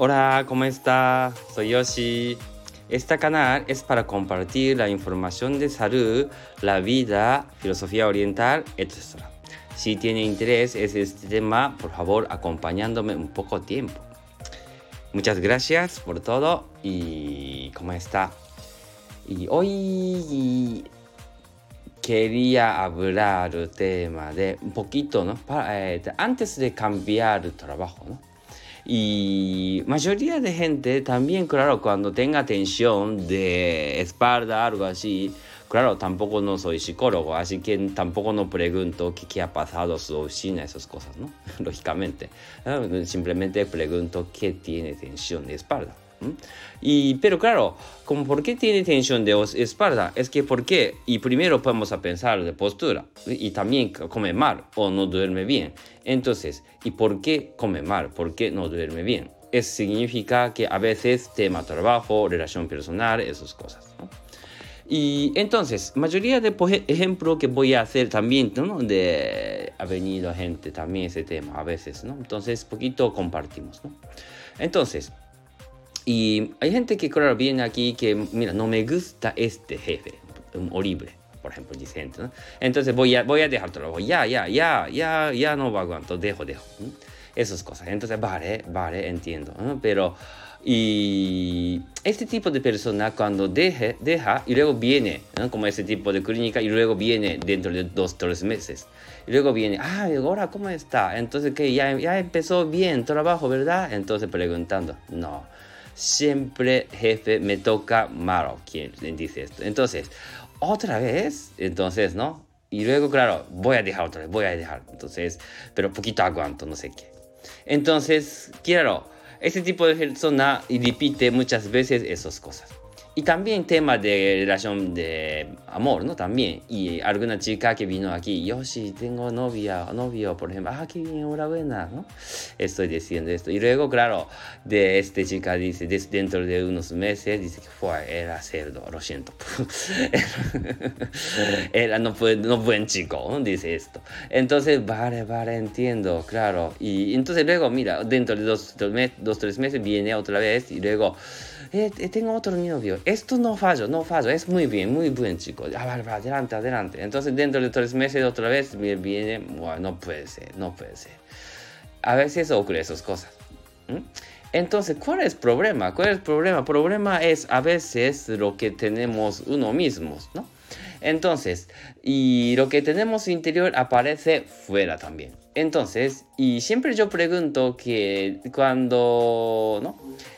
Hola, ¿cómo está? Soy Yoshi. Este canal es para compartir la información de salud, la vida, filosofía oriental, etc. Si tiene interés en este tema, por favor, acompañándome un poco tiempo. Muchas gracias por todo y ¿cómo está? Y hoy quería hablar del tema de un poquito, ¿no? Antes de cambiar de trabajo, ¿no? Y mayoría de gente también, claro, cuando tenga tensión de espalda, algo así, claro, tampoco no soy psicólogo, así que tampoco no pregunto qué ha pasado su oficina, esas cosas, ¿no? Lógicamente. Simplemente pregunto qué tiene tensión de espalda. Pero claro, como por qué tiene tensión de espalda, es que por qué, y primero podemos a pensar de postura, y también come mal o no duerme bien. Entonces, ¿y por qué come mal? ¿Por qué no duerme bien? Eso significa que a veces tema trabajo, relación personal, esas cosas, ¿no? Y entonces, mayoría de ejemplo que voy a hacer también, ¿no? Ha venido gente también ese tema a veces, ¿no? Entonces, poquito compartimos, ¿no? Entonces, y hay gente que, claro, viene aquí que, mira, no me gusta este jefe, horrible, por ejemplo, dice gente, ¿no? Entonces voy a dejar trabajo, ya no aguanto, dejo. Esas cosas. Entonces, vale, entiendo, ¿no? Pero, y este tipo de persona cuando deja y luego viene, ¿no? Como ese tipo de clínica y luego viene dentro de 2-3 meses. Y luego viene, ahora, ¿cómo está? Entonces, ¿qué? Ya empezó bien trabajo, ¿verdad? Entonces preguntando, no. Siempre jefe me toca malo, quien dice esto. Entonces, otra vez, entonces, ¿no? Y luego, claro, voy a dejar. Entonces, pero poquito aguanto, no sé qué. Entonces, claro, ese tipo de persona repite muchas veces esas cosas. Y también tema de relación de amor, ¿no? También. Y alguna chica que vino aquí, Yoshi, tengo novio, por ejemplo. Qué bien, enhorabuena, ¿no? Estoy diciendo esto. Y luego, claro, de esta chica dice, dentro de unos meses, dice que era cerdo, lo siento. Era no buen chico, ¿no? Dice esto. Entonces, vale, entiendo, claro. Y entonces luego, mira, dentro de 2-3 meses viene otra vez y luego... tengo otro novio. Esto no fallo. Es muy bien, muy buen chico. Vale, adelante. Entonces, dentro de 3 meses otra vez viene, bueno, no puede ser. A veces ocurre esas cosas. Entonces, ¿cuál es el problema? El problema es a veces lo que tenemos uno mismo, ¿no? Entonces, y lo que tenemos interior aparece fuera también. Entonces, y siempre yo pregunto que cuando, ¿no?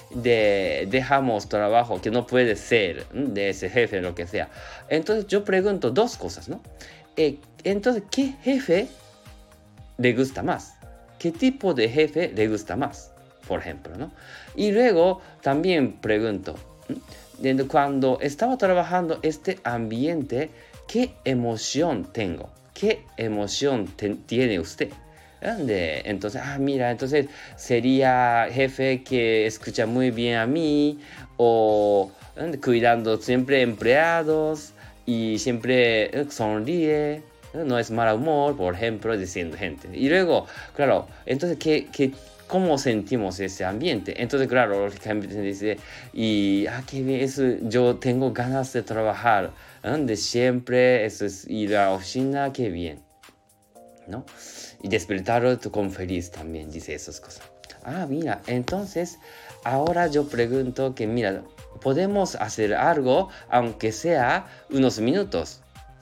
Dejamos trabajo que no puede ser, ¿no? De ese jefe, lo que sea. Entonces, yo pregunto dos cosas, ¿no? Entonces, ¿qué jefe le gusta más? ¿Qué tipo de jefe le gusta más? Por ejemplo, ¿no? Y luego también pregunto, cuando estaba trabajando este ambiente, ¿qué emoción tengo? ¿Qué emoción tiene usted? Entonces, mira, entonces sería jefe que escucha muy bien a mí o cuidando siempre empleados y siempre sonríe, no es mal humor, por ejemplo, diciendo gente. Y luego, claro, entonces, ¿cómo sentimos ese ambiente? Entonces, claro, lógicamente dice, qué bien, eso, yo tengo ganas de trabajar, de siempre, eso es ir a la oficina, qué bien, ¿no? Y despertar con feliz también, dice esas cosas. Mira, entonces, ahora yo pregunto que, mira, podemos hacer algo, aunque sea unos minutos.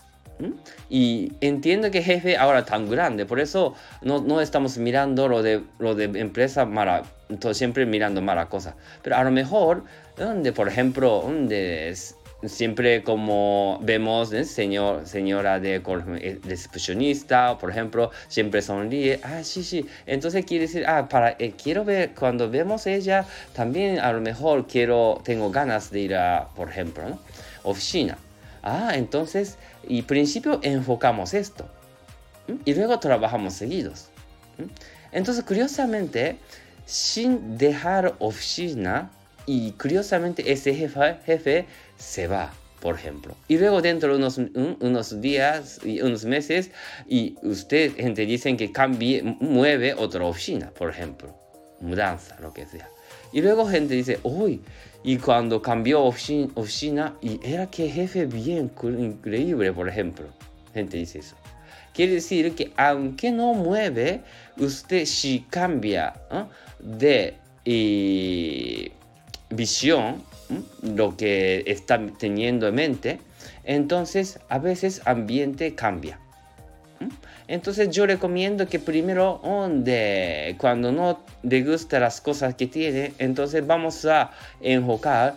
Y entiendo que jefe ahora tan grande, por eso no estamos mirando lo de empresa mala, siempre mirando mala cosa. Pero a lo mejor, donde por ejemplo, siempre como vemos, señora de recepcionista, por ejemplo, siempre sonríe, sí. Entonces quiere decir, quiero ver, cuando vemos ella, también a lo mejor tengo ganas de ir a, por ejemplo, ¿no? Oficina. Entonces, y principio enfocamos esto. Y luego trabajamos seguidos. Entonces, curiosamente, sin dejar oficina, y curiosamente ese jefe se va, por ejemplo. Y luego dentro de unos días y unos meses, y gente dicen que mueve otra oficina, por ejemplo. Mudanza, lo que sea. Y luego gente dice, uy, y cuando cambió oficina, y era que jefe bien increíble, por ejemplo. Gente dice eso. Quiere decir que aunque no mueve, usted si cambia de visión, lo que está teniendo en mente, entonces a veces ambiente cambia. Entonces yo recomiendo que primero cuando no le gustan las cosas que tiene, entonces vamos a enfocar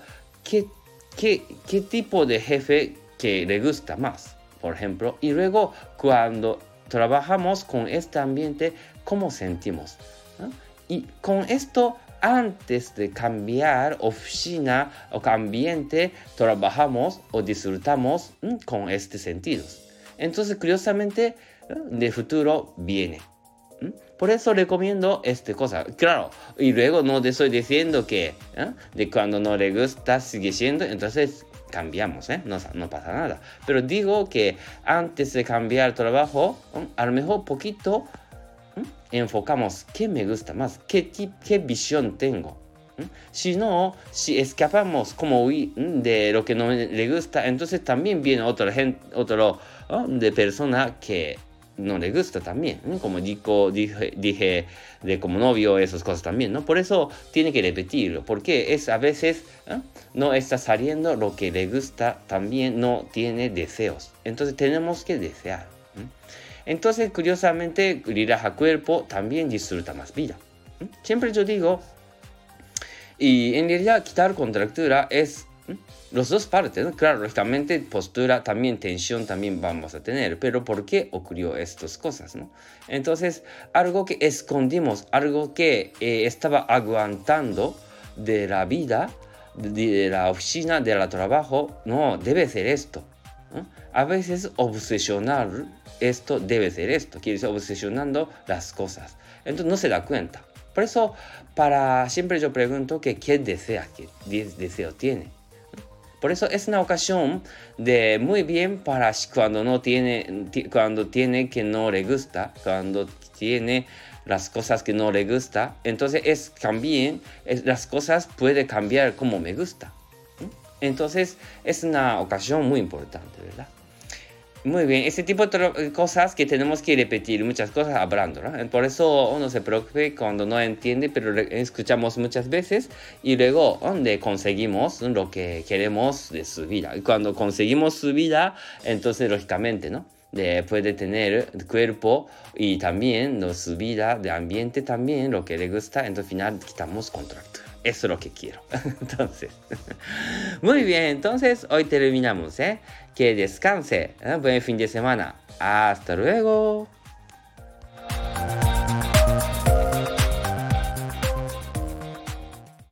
qué tipo de jefe que le gusta más, por ejemplo, y luego cuando trabajamos con este ambiente, ¿cómo sentimos? Y con esto, antes de cambiar oficina o ambiente, trabajamos o disfrutamos con estos sentidos. Entonces, curiosamente, de futuro viene. Por eso recomiendo esta cosa. Claro, y luego no te estoy diciendo que de cuando no le gusta sigue siendo, entonces cambiamos, no pasa nada. Pero digo que antes de cambiar trabajo, a lo mejor poquito enfocamos qué me gusta más, qué visión tengo. Si no, si escapamos como de lo que no le gusta, entonces también viene otro de persona que no le gusta también, como dije de como novio, esas cosas también, ¿no? Por eso tiene que repetirlo, porque a veces no está saliendo lo que le gusta, también no tiene deseos, entonces tenemos que desear. Entonces, curiosamente, relaja cuerpo, también disfruta más vida. Siempre yo digo, y en realidad quitar contractura es las dos partes, ¿no? Claro, lógicamente postura, también tensión, también vamos a tener, pero ¿por qué ocurrió estas cosas, no? Entonces, algo que escondimos, algo que estaba aguantando de la vida, de la oficina, del trabajo, no, debe ser esto, ¿no? A veces obsesionar esto debe ser esto, quiere decir obsesionando las cosas, entonces no se da cuenta. Por eso, siempre yo pregunto que qué deseo tiene. Por eso es una ocasión de muy bien para cuando tiene que no le gusta, cuando tiene las cosas que no le gusta, entonces las cosas puede cambiar como me gusta. Entonces es una ocasión muy importante, ¿verdad? Muy bien, ese tipo de cosas que tenemos que repetir, muchas cosas hablando, ¿no? Por eso uno se preocupe cuando no entiende, pero escuchamos muchas veces y luego donde conseguimos lo que queremos de su vida. Y cuando conseguimos su vida, entonces lógicamente, ¿no? Puede tener cuerpo y también su vida, de ambiente también, lo que le gusta, entonces al final quitamos contractura. Eso es lo que quiero. Entonces, muy bien, entonces hoy terminamos, Que descanse, buen fin de semana. Hasta luego.